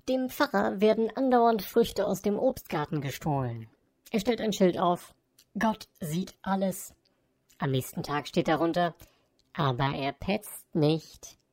Dem Pfarrer werden andauernd Früchte aus dem Obstgarten gestohlen. Er stellt ein Schild auf: Gott sieht alles. Am nächsten Tag steht darunter: Aber er petzt nicht.